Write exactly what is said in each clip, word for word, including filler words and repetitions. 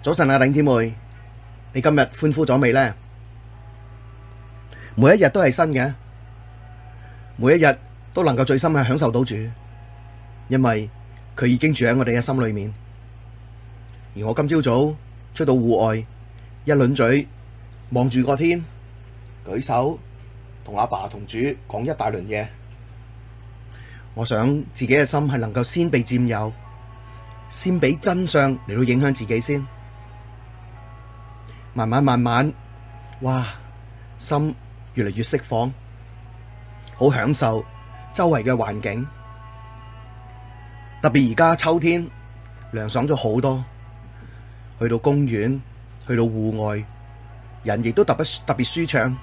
早晨啊，弟兄姊妹，你今日歡呼咗未呢？每一日都係新嘅，每一日都能夠最深嘅享受到主，因為佢已經住喺我哋嘅心裏面。而我今朝早出到戶外，一輪嘴望住個天，舉手同阿爸同主講一大輪嘢。我想自己嘅心係能夠先被佔有，先俾真相嚟到影響自己先。慢慢慢慢，哇，心越嚟越釋放，好享受周圍嘅環境。特別而家秋天涼爽咗好多，去到公園，去到戶外，人亦都特別特別舒暢。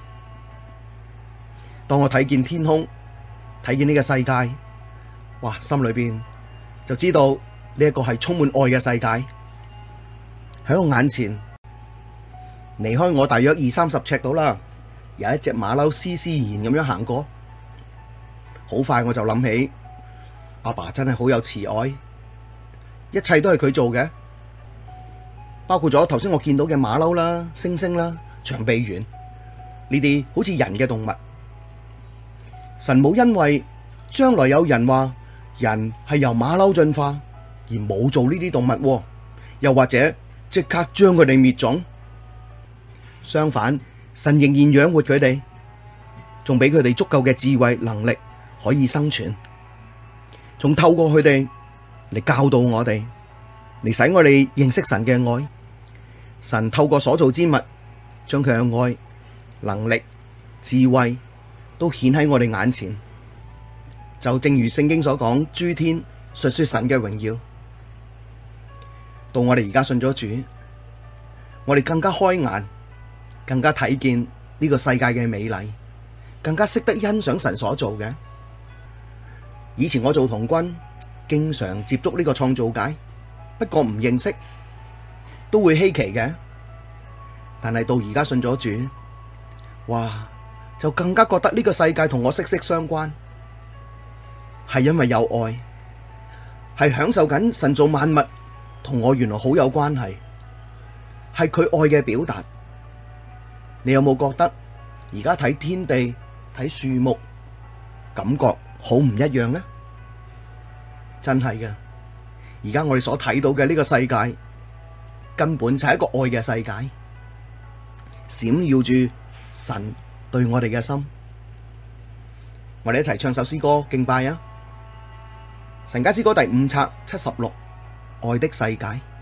當我睇見天空，睇見呢個世界，哇，心裏邊就知道呢一個係充滿愛嘅世界。喺我眼前，離開我大約二三十尺度啦，有一隻馬騮斯斯然咁樣行過，好快我就諗起阿爸真係好有慈愛，一切都係佢做嘅，包括咗頭先我見到嘅馬騮啦、猩猩啦、長臂猿呢啲好似人嘅動物。神冇因為將來有人話人係由馬騮進化而冇做呢啲動物，又或者即刻將佢哋滅種。相反，神仍然養活佢哋，仲俾佢哋足夠嘅智慧能力可以生存，仲透過佢哋嚟教導我哋，嚟使我哋認識神嘅愛。神透過所造之物，將佢嘅愛、能力、智慧都顯喺我哋眼前。就正如聖經所講，諸天述說神嘅榮耀。到我哋而家信咗主，我哋更加開眼，更加睇見呢個世界嘅美麗，更加識得欣賞神所做嘅。以前我做童軍，經常接觸呢個創造界，不過唔認識，都會稀奇嘅。但係到而家信咗主，哇，就更加覺得呢個世界同我息息相關，係因為有愛，係享受緊神造萬物同我原來好有關係，係佢愛嘅表達。你有冇覺得而家睇天地、睇樹木，感覺好唔一樣呢？真係嘅，而家我哋所睇到嘅呢個世界，根本就係一個愛嘅世界，閃耀住神對我哋嘅心。我哋一齊唱首詩歌敬拜啊！神家詩歌第五冊七十六，愛的世界。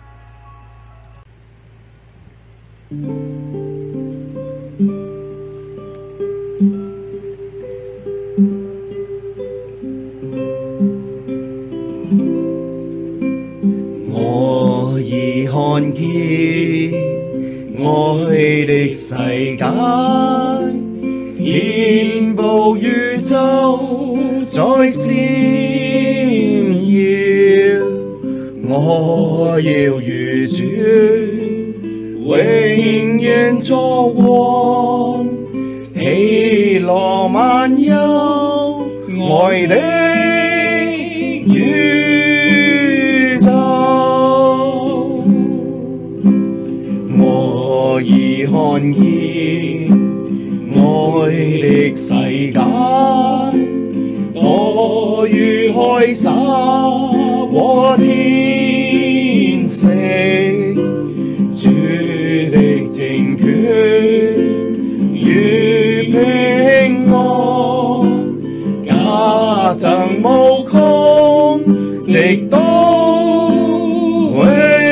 我已看見愛的世界，遍佈宇宙在閃耀，我要與主永遠作王，喜樂滿有愛的宇宙。我已看見愛的世界，多如海沙和天色，主的政權與平安，加增無窮，直到永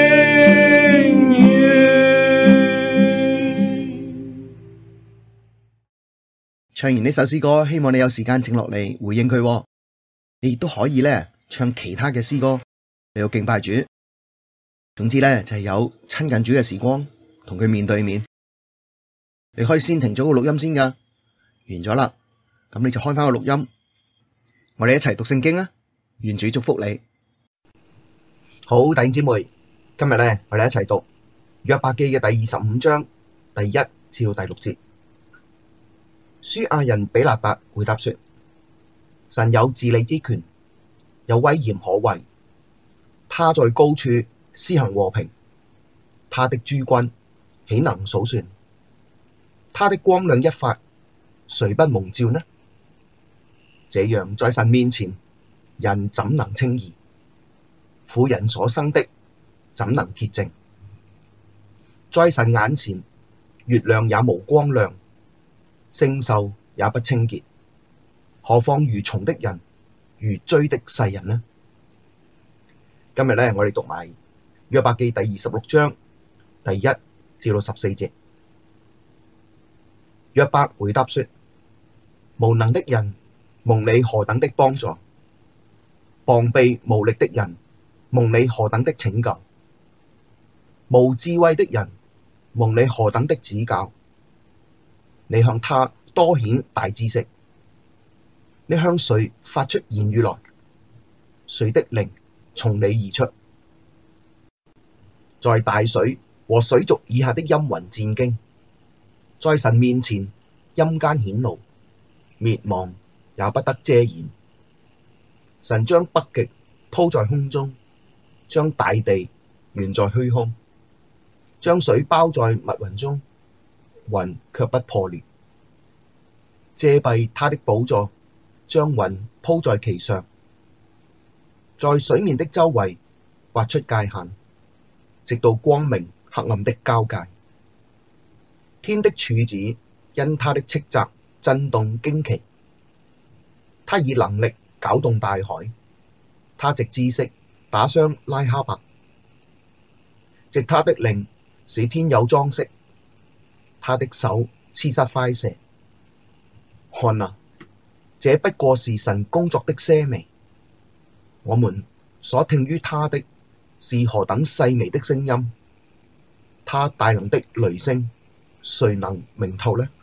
遠。唱完呢首詩歌，希望你有時間靜落嚟回應佢。你亦都可以咧唱其他嘅詩歌嚟到敬拜主。總之咧就係有親近主嘅時光，同佢面對面。你可以先停咗個錄音先噶，完咗啦，咁你就開翻個錄音，我哋一齊讀聖經啊！願主祝福你。好，弟兄姊妹，今日咧我哋一齊讀約伯記嘅第二十五章第一至到第六節。書亞人比勒達回答說：神有治理之權，有威嚴可畏，他在高處施行和平， 他的諸軍豈能數算？他的光亮一發，誰不蒙照呢？這樣在神面前，人怎能稱義？婦人所生的怎能潔淨？在神眼前，月亮也無光亮，星宿也不清潔，何況如蟲的人，如蛆的世人呢？今日咧，我哋讀埋約伯記第二十六章第一至到十四節。約伯回答說：無能的人，蒙你何等的幫助；膀臂無力的人，蒙你何等的拯救；無智慧的人，蒙你何等的指教。你向他多顯大知識，你向誰發出言語來？誰的靈從你而出？在大水和水族以下的陰雲戰兢，在神面前陰間顯露，滅亡也不得遮掩。神將北極鋪在空中，將大地懸在虛空，將水包在密雲中，雲卻不破裂。遮蔽他的寶座，將雲鋪在其上，在水面的周圍劃出界限，直到光明黑暗的交界。天的柱子因他的斥責震動驚奇，他以能力攪動大海，他藉知識打傷拉哈伯，藉他的靈使天有裝飾，他的手刺殺快蛇。看啊，這不過是神工作的些微，我們所聽於他的是何等細微的聲音，他大能的雷聲，誰能明透呢？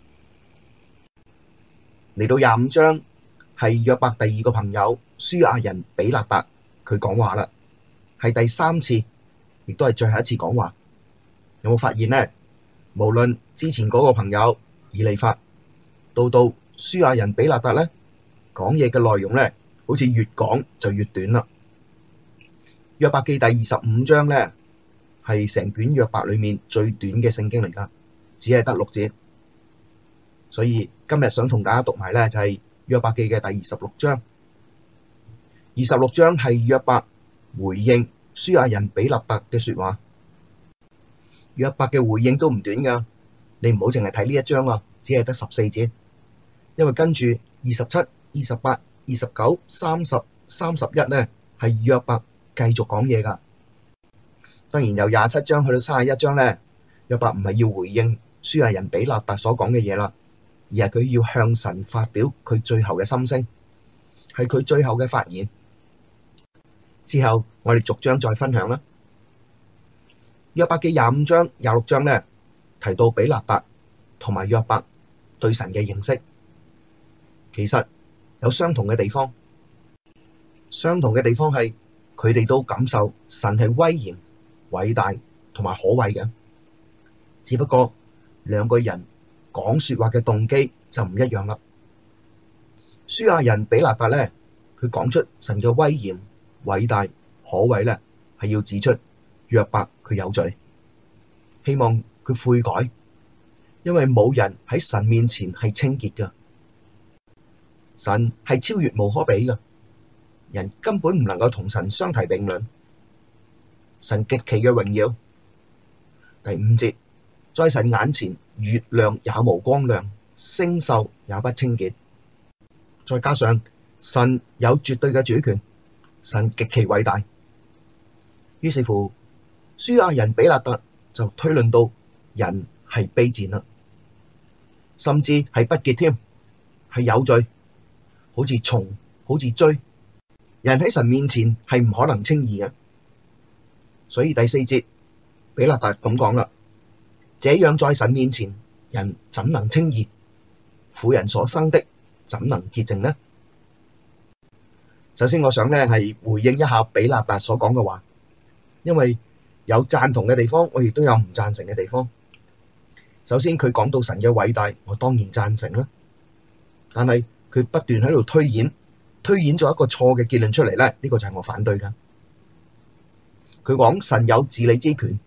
嚟到廿五章係約伯第二個朋友書亞人比勒達，佢講話啦，係第三次，亦都係最後一次講話。有冇發現呢？無論之前嗰個朋友以利法，到到書亞人比勒達咧，講嘢嘅內容咧，好似越講就越短啦。約伯記第二十五章咧，係成卷約伯裡面最短嘅聖經嚟噶，只係得六節。所以今日想同大家讀埋咧，就係約伯記嘅第二十六章。二十六章係約伯回應書亞人比勒達嘅說話。約伯嘅回應都唔短噶，你唔好淨係睇呢一章啊，只係得十四節。因為跟住二十七、二十八、二十九、三十、三十一咧，係約伯繼續講嘢噶。當然由廿七章去到三十一章咧，約伯唔係要回應書亞人比勒達所講嘅嘢啦，而係佢要向神發表佢最後嘅心聲，係佢最後嘅發言。之後我哋逐章再分享啦。約伯記廿五章、廿六章咧，提到比勒達同埋約伯對神嘅認識。其實有相同嘅地方，相同嘅地方係佢哋都感受神係威嚴、偉大同埋可畏嘅，只不過兩個人講說話嘅動機就唔一樣啦。書亞人比勒達咧，佢講出神嘅威嚴、偉大、可畏咧，係要指出約伯佢有罪，希望佢悔改，因為冇人喺神面前係清潔噶。神係超越無可比嘅，人根本唔能夠同神相提並論。神極其嘅榮耀。第五節，在神眼前，月亮也無光亮，星宿也不清潔。再加上神有絕對嘅主權，神極其偉大。於是乎，書亞人比勒達就推論到人係卑賤啦，甚至係不潔添，係有罪。好似蟲，好似蛆，人喺神面前係唔可能稱義嘅。所以第四節，比勒達咁講啦，這樣在神面前，人怎能稱義？婦人所生的怎能潔淨呢？首先我想咧係回應一下比勒達所講嘅話，因為有贊同嘅地方，我亦都有唔贊成嘅地方。首先佢講到神嘅偉大，我當然贊成啦，但係佢不斷喺度推演，推演咗一個錯嘅結論出嚟咧，呢個就係我反對噶。佢講神有治理之權，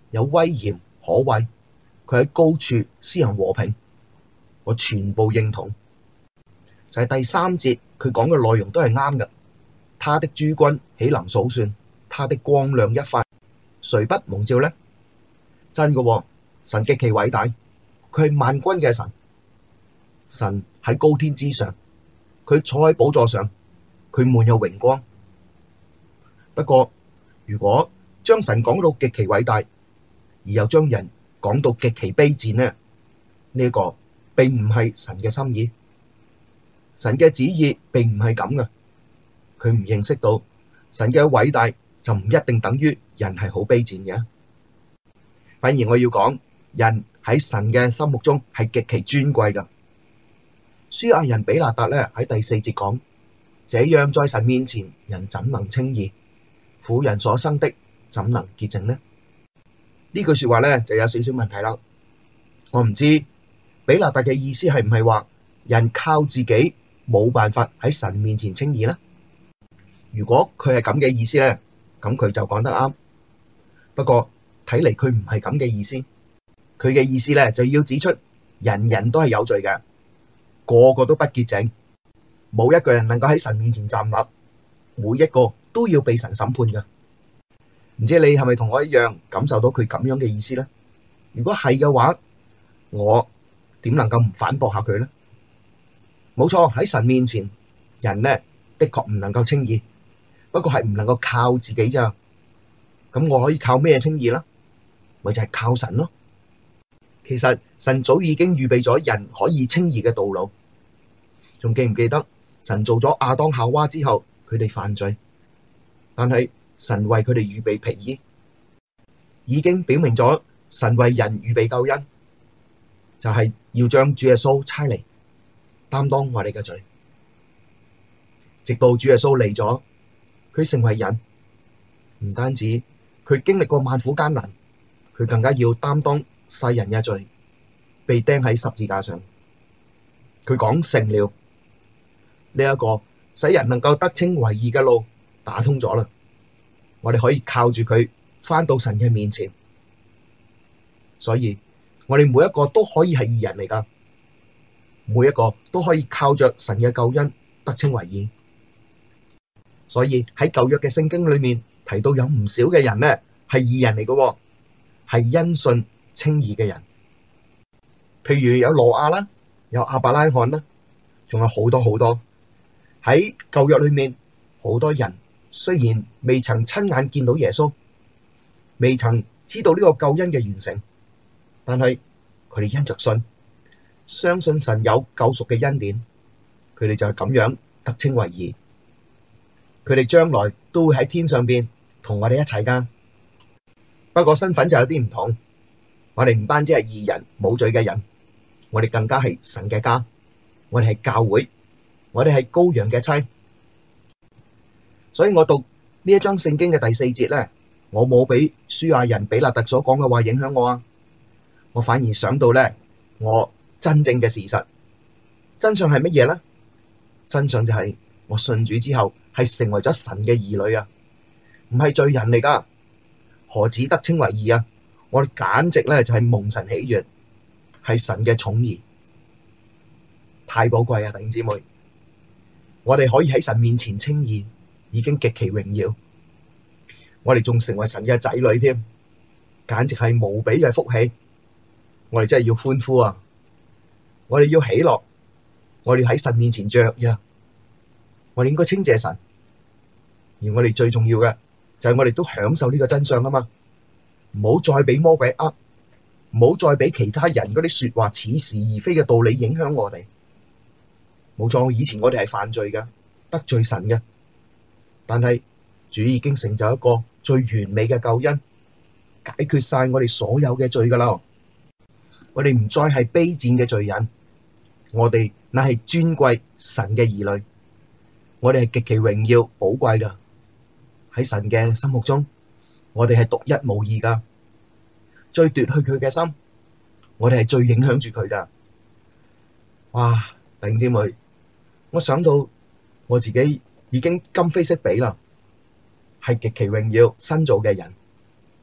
有威嚴可畏，佢喺高處施行和平，我全部認同。就係第三節佢講嘅內容都係啱嘅。他的諸軍豈能數算？他的光亮一發，誰不蒙照呢？真嘅喎，神極其偉大，佢係萬軍嘅神，神喺高天之上，佢坐喺寶座上，佢滿有榮光。不過如果將神講到極其偉大，而又將人講到極其卑賤呢？呢一個並唔係神嘅心意，神嘅旨意並唔係咁嘅。佢唔認識到神嘅偉大，就唔一定等於人係好卑賤嘅。反而我要講，人喺神嘅心目中係極其尊貴噶。書亞人比勒達咧喺第四節講，這樣在神面前，人怎能稱義？婦人所生的怎能潔淨呢？呢句說話咧就有少少問題啦。我唔知比勒達嘅意思係唔係話人靠自己冇辦法喺神面前稱義呢？如果佢係咁嘅意思咧，咁佢就講得啱。不過睇嚟佢唔係咁嘅意思，佢嘅意思咧就要指出人人都係有罪嘅，個個都不潔淨，冇一個人能夠喺神面前站立，每一個都要被神審判嘅。唔知你係咪同我一樣感受到佢咁樣嘅意思咧？如果係嘅話，我點能夠唔反駁下佢咧？冇錯，喺神面前，人呢的確唔能夠稱義，不過係唔能夠靠自己咋。咁我可以靠咩稱義啦？咪就係靠神咯。其實神早已經預備咗人可以稱義嘅道路。仲記唔記得神做咗亞當夏娃之後，佢哋犯罪，但係神為佢哋預備皮衣，已經表明咗神為人預備救恩，就係要將主耶穌差嚟擔當我哋嘅罪。直到主耶穌嚟咗，佢成為人，唔單止佢經歷過萬苦艱難，佢更加要擔當世人嘅罪，被釘喺十字架上。佢講成了，呢一個使人能夠得稱為義嘅路打通咗啦。我哋可以靠住佢返到神嘅面前，所以我哋每一個都可以係義人嚟㗎，每一個都可以靠着神嘅救恩得稱為義。所以喺舊約嘅聖經裏面提到有唔少嘅人呢係義人嚟嘅，係因信稱義嘅人。譬如有挪亞啦，有亞伯拉罕啦，仲有好多好多。喺舊約裏面，好多人雖然未曾親眼見到耶穌，未曾知道呢個救恩嘅完成，但係佢哋因着信，相信神有救贖嘅恩典，佢哋就係咁樣得稱為義。佢哋將來都會喺天上邊同我哋一齊噶。不過身份就有啲唔同，我哋唔單止係義人，冇罪嘅人，我哋更加係神嘅家，我哋係教會，我哋係羔羊嘅妻。所以我讀呢一章聖經嘅第四節咧，我冇俾書亞人比勒達所講嘅話影響我啊，我反而想到咧，我真正嘅事實，真相係乜嘢咧？真相就係我信主之後係成為咗神嘅兒女啊，唔係罪人嚟噶，何止得稱為義啊？我哋簡直咧就係蒙神喜悅，係神嘅寵兒，太寶貴啊！弟兄姊妹，我哋可以喺神面前稱義，已經極其榮耀。我哋仲成為神嘅仔女添，簡直係無比嘅福氣。我哋真係要歡呼啊！我哋要喜樂，我哋喺神面前雀躍，我哋應該稱謝神。而我哋最重要嘅就係我哋都享受呢個真相啊嘛！唔好再俾魔鬼呃，唔好再俾其他人嗰啲說話似是而非嘅道理影響我哋。冇錯，以前我哋係犯罪嘅，得罪神嘅，但係主已經成就一個最完美嘅救恩，解決晒我哋所有嘅罪噶啦。我哋唔再係卑賤嘅罪人，我哋乃係尊貴神嘅兒女，我哋係極其榮耀寶貴噶。喺神嘅心目中，我哋係獨一無二噶，最奪去佢嘅心，我哋係最影響住佢噶。哇！弟兄姊妹，我想到我自己已經今非昔比啦，係極其榮耀新造嘅人，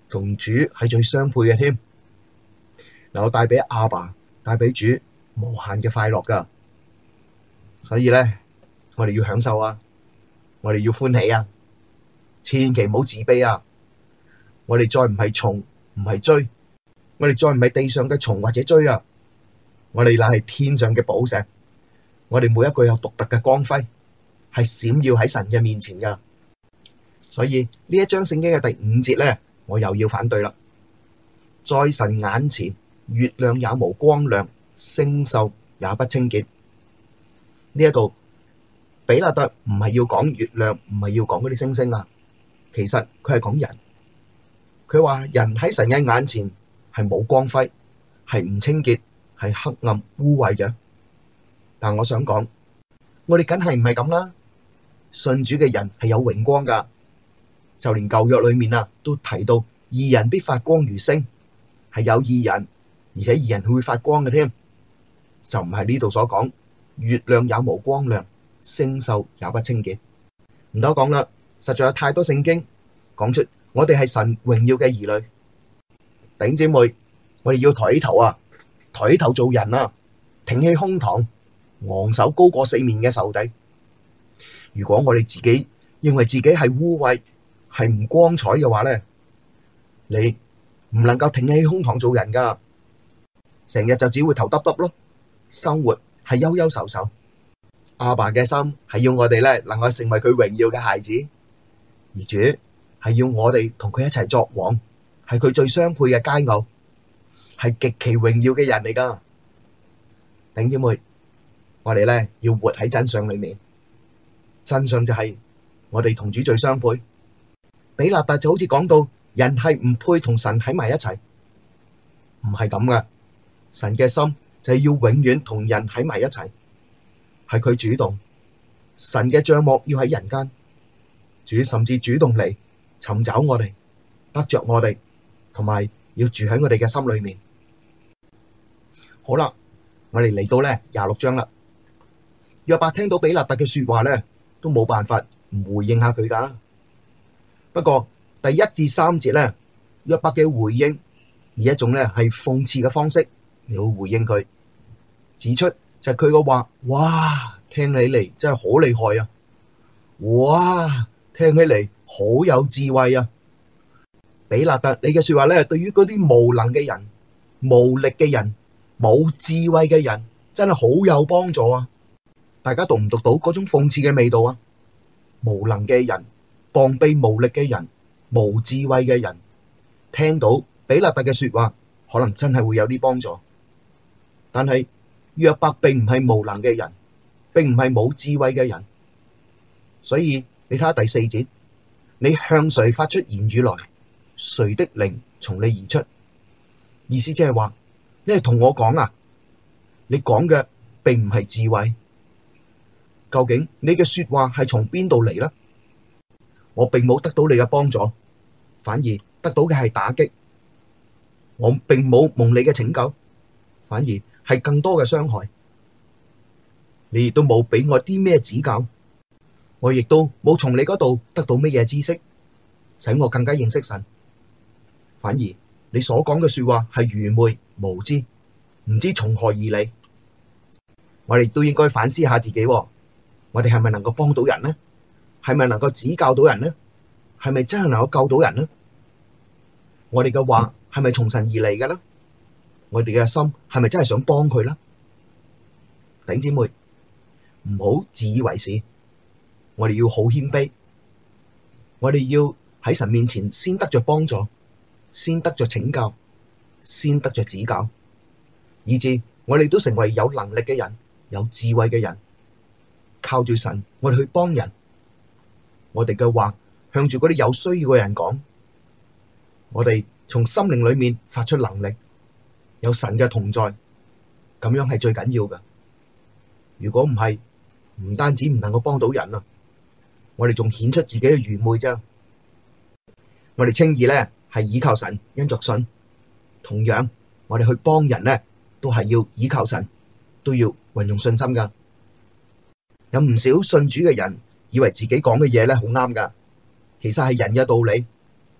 同主係最相配嘅添，能夠帶俾阿爸、帶俾主無限嘅快樂噶。所以咧，我哋要享受啊，我哋要歡喜啊，千祈唔好自卑啊！我哋再唔係蟲，唔係追，我哋再唔係地上嘅蟲或者追啊！我哋乃係天上嘅寶石，我哋每一個有獨特嘅光輝，係閃耀喺神嘅面前噶。所以呢一章聖經嘅第五節咧，我又要反對啦。在神眼前，月亮也無光亮，星宿也不清潔。呢一度比勒達唔係要講月亮，唔係要講嗰啲星星啊，其實佢係講人。佢話人喺神嘅眼前係冇光輝，係唔清潔，係黑暗污穢嘅。但我想講，我哋梗係唔係咁啦。信主嘅人係有榮光噶，就連舊約裏面啊都提到義人必發光如星，係有義人，而且義人會發光嘅添，就唔係呢度所講月亮也無光亮，星宿也不清潔。唔多講啦，實在有太多聖經講出我哋係神榮耀嘅兒女。弟兄姊妹，我哋要抬起頭啊，抬起頭做人啊，挺起胸膛，昂首高過四面嘅仇敵。如果我哋自己認為自己係污穢，係唔光彩嘅話咧，你唔能夠挺起胸膛做人噶，成日就只會頭耷耷咯，生活係憂憂愁愁。阿爸嘅心係要我哋咧能夠成為佢榮耀嘅孩子，而主係要我哋同佢一齊作王，係佢最相配嘅佳偶，係極其榮耀嘅人嚟噶。弟兄姊妹，我哋咧要活喺真相裏面，真相就係我哋同主最相配。比勒達就好似講到人係唔配同神喺埋一齊，唔係咁噶。神嘅心就係要永遠同人喺埋一齊，係佢主動。神嘅帳幕要喺人間，主甚至主動嚟尋找我哋，得着我哋，同埋要住喺我哋嘅心裏面。好啦，我哋嚟到咧廿六章啦。約伯聽到比勒達嘅說話咧，都冇辦法唔回應下佢噶。不過第一至三節咧，約伯嘅回應以一種咧係諷刺嘅方式嚟到回應佢，指出就係佢個話，哇，聽起嚟真係好厲害啊！哇，聽起嚟好有智慧啊！比勒達，你嘅說話咧，對於嗰啲無能嘅人、無力嘅人、冇智慧嘅人，真係好有幫助啊！大家讀唔讀到嗰種諷刺嘅味道啊？無能嘅人、膀臂無力嘅人、無智慧嘅人，聽到比勒達嘅說話，可能真係會有啲幫助。但係約伯並唔係無能嘅人，並唔係冇智慧嘅人，所以你睇下第四節，你向誰發出言語來，誰的靈從你而出？意思即係話，你係同我講啊，你講嘅並唔係智慧。究竟你嘅說話係從邊度嚟呢？我並冇得到你嘅幫助，反而得到嘅係打擊。我並冇蒙你嘅拯救，反而係更多嘅傷害。你亦都冇俾我啲咩指教，我亦都冇從你嗰度得到乜嘢知識，使我更加認識神。反而你所講嘅說話係愚昧無知，唔知從何而嚟。我哋都應該反思下自己，我哋係咪能夠幫到人呢？係咪能夠指教到人呢？係咪真係能夠救到人呢？我哋嘅話係咪從神而嚟嘅呢？我哋嘅心係咪真係想幫佢呢？弟兄姊妹，唔好自以為是，我哋要好謙卑，我哋要喺神面前先得着幫助，先得着拯救，先得着指教，以致我哋都成為有能力嘅人，有智慧嘅人，靠住神，我哋去幫人。我哋嘅話向住嗰啲有需要嘅人講，我哋從心靈裏面發出能力，有神嘅同在，咁樣係最緊要嘅。如果唔係，唔單止唔能夠幫到人啊，我哋仲顯出自己嘅愚昧啫。我哋稱義咧係倚靠神，因着信。同樣，我哋去幫人咧都係要倚靠神，都要運用信心噶。有唔少信主嘅人以為自己講嘅嘢咧好啱噶，其實係人嘅道理，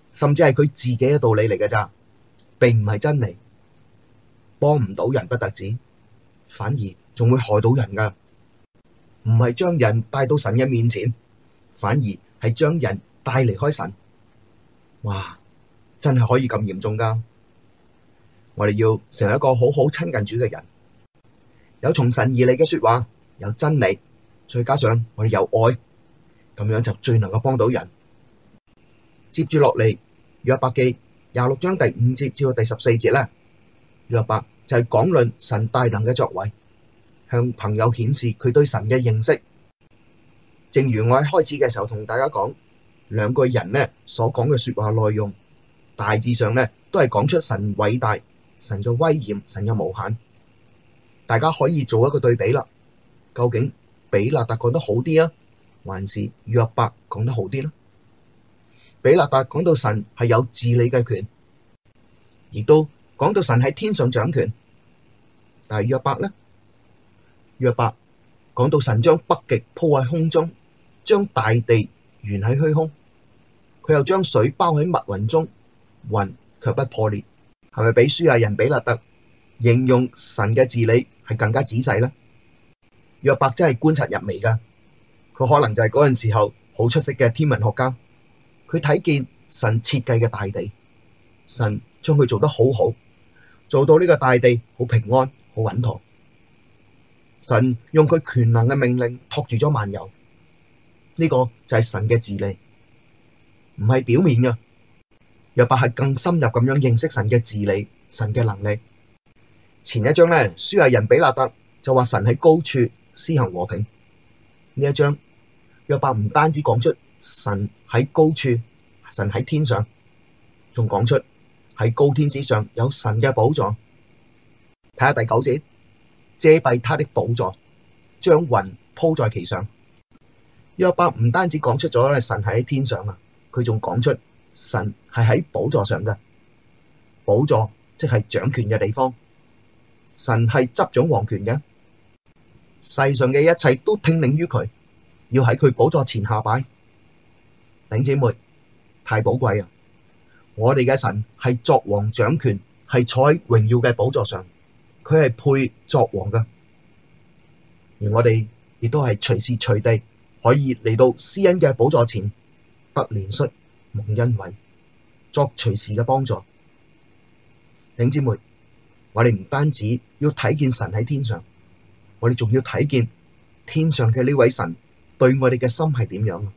甚至係佢自己嘅道理嚟嘅咋，並唔係真理，幫唔到人不特止，反而仲會害到人噶。唔係將人帶到神嘅面前，反而係將人帶離開神。哇，真係可以咁嚴重噶！我哋要成為一個好好親近主嘅人，有從神而嚟嘅說話，有真理，再加上我哋有愛，咁樣就最能夠幫到人。接住落嚟，約伯記廿六章第五節至到第十四節咧，約伯就係講論神大能嘅作為，向朋友顯示佢對神嘅認識。正如我喺開始嘅時候同大家講，兩個人呢所講嘅說話內容，大致上呢都係講出神偉大、神嘅威嚴、神嘅無限。大家可以做一個對比啦，究竟比勒達講得好啲啊，還是約伯講得好啲呢？比勒達講到神係有治理嘅權，亦都講到神喺天上掌權。但係約伯呢？約伯講到神將北極鋪喺空中，將大地懸喺虛空，佢又將水包喺密雲中，雲卻不破裂。係咪比書亞人比勒達形容神嘅治理係更加仔細呢？約伯真係觀察入微噶，佢可能就係嗰陣時候好出色嘅天文學家。佢睇見神設計嘅大地，神將佢做得好好，做到呢個大地好平安、好穩妥。神用佢權能嘅命令托住咗萬有，呢個就係神嘅治理，唔係表面嘅。約伯係更深入咁樣認識神嘅治理、神嘅能力。前一章咧，書亞人比勒達就話神喺高處施行和平。呢一章約伯唔單止講出神喺高處，神喺天上，仲講出喺高天之上有神嘅寶座。睇下第九節，遮蔽他的寶座，將雲鋪在其上。約伯唔單止講出咗神係喺天上啊，佢仲講出神係喺寶座上嘅。寶座即係掌權嘅地方，神係執掌王權嘅，世上嘅一切都聽令於佢，要喺佢寶座前下拜。弟兄姊妹，太寶貴啊！我哋嘅神係作王掌權，係坐喺榮耀嘅寶座上，佢係配作王噶。而我哋亦都係隨時隨地可以嚟到施恩嘅寶座前，得憐恤、蒙恩惠，作隨時嘅幫助。弟兄姊妹，我哋唔單止要睇見神喺天上，我哋仲要睇見天上嘅呢位神對我哋嘅心係點樣。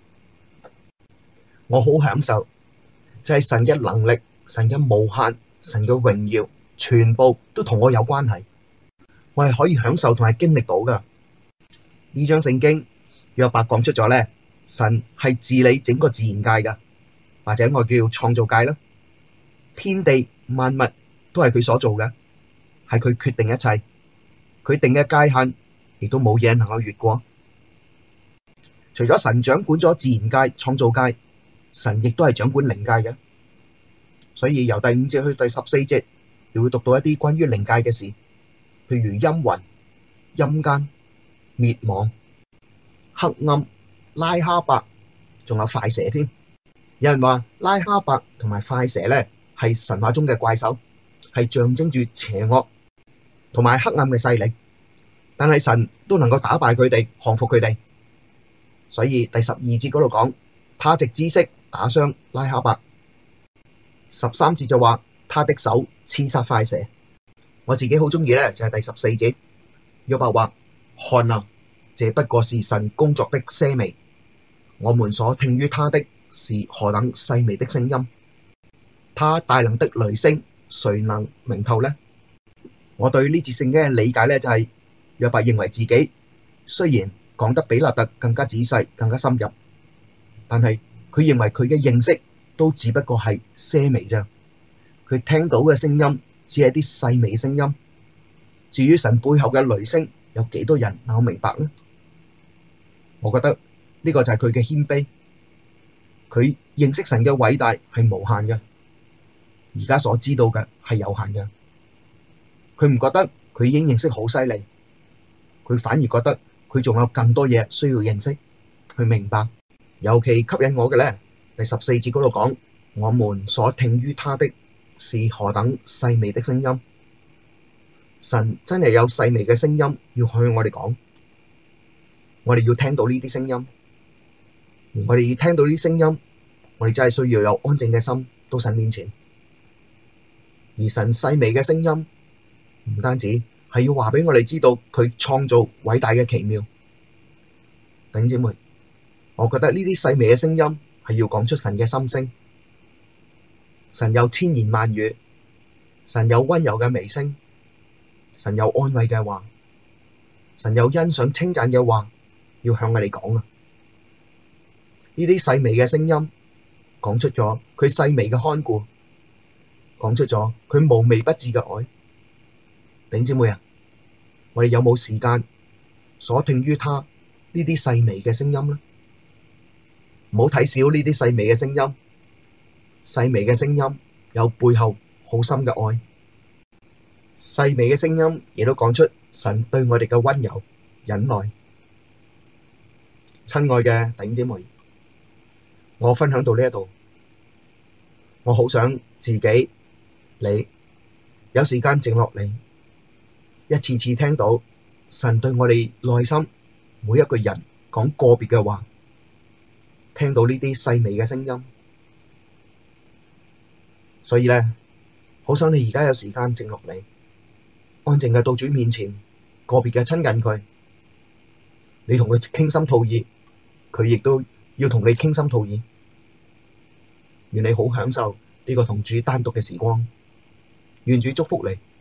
我好享受，就係神嘅能力、神嘅無限、神嘅榮耀，全部都同我有關係。我係可以享受同埋經歷到噶。呢章聖經約伯講出咗咧，神係治理整個自然界噶，或者我叫創造界啦。天地萬物都係佢所做嘅，係佢決定一切，佢定嘅界限亦都冇嘢能夠越過。除咗神掌管咗自然界、創造界，神亦都係掌管靈界嘅。所以由第五節去第十四節，你會讀到一啲關於靈界嘅事，譬如陰魂、陰間、滅亡、黑暗、拉哈伯，仲有快蛇添。有人話拉哈伯同埋快蛇咧係神話中嘅怪獸，係象徵住邪惡同埋黑暗嘅勢力，但係神都能夠打敗佢哋，降服佢哋。所以第十二節嗰度講，他藉知識打傷拉哈伯。十三節就話他的手刺殺快蛇。我自己好中意咧，就係第十四節，約伯話：看啊，這不過是神工作的些微，我們所聽於他的是何等細微的聲音。他大能的雷聲，誰能明透呢？我對呢節聖經嘅理解咧，就係約伯認為自己雖然講得比勒達更加仔細、更加深入，但係佢認為佢嘅認識都只不過係些微啫。佢聽到嘅聲音只係啲細微聲音，至於神背後嘅雷聲，有幾多人能夠明白呢？我覺得呢個就係佢嘅謙卑，佢認識神嘅偉大係無限嘅，而家所知道嘅係有限嘅。佢唔覺得佢已經認識好犀利，佢反而覺得佢仲有更多嘢需要認識去明白。尤其吸引我嘅咧，第十四節嗰度講， 我們所聽於他的是何等細微的聲音。神真係有細微嘅聲音要向我哋講，我哋要聽到呢啲聲音。我哋聽到呢啲聲音，我哋真係需要有安靜嘅心到神面前。而神細微嘅聲音唔單止係要話俾我哋知道佢創造偉大嘅奇妙。弟兄姊妹，我覺得呢啲細微嘅聲音係要講出神嘅心聲。神有千言萬語，神有溫柔嘅微聲，神有安慰嘅話，神有欣賞稱讚嘅話要向我哋講啊！呢啲細微嘅聲音講出咗佢細微嘅看顧，講出咗佢無微不至嘅愛。弟兄姊妹啊，我哋有冇時間所聽於他呢啲細微嘅聲音呢？唔好睇小呢啲細微嘅聲音，細微嘅聲音有背後好深嘅愛。細微嘅聲音亦都講出神對我哋嘅溫柔忍耐。親愛嘅弟兄姊妹，我分享到呢一度，我好想自己你有時間靜落嚟，一次次聽到神對我哋內心每一個人講個別嘅話，聽到呢啲細微嘅聲音。所以咧，好想你而家有時間靜落嚟，安靜嘅到主面前，個別嘅親近佢，你同佢傾心吐意，佢亦都要同你傾心吐意。願你好享受呢個同主單獨嘅時光，願主祝福你。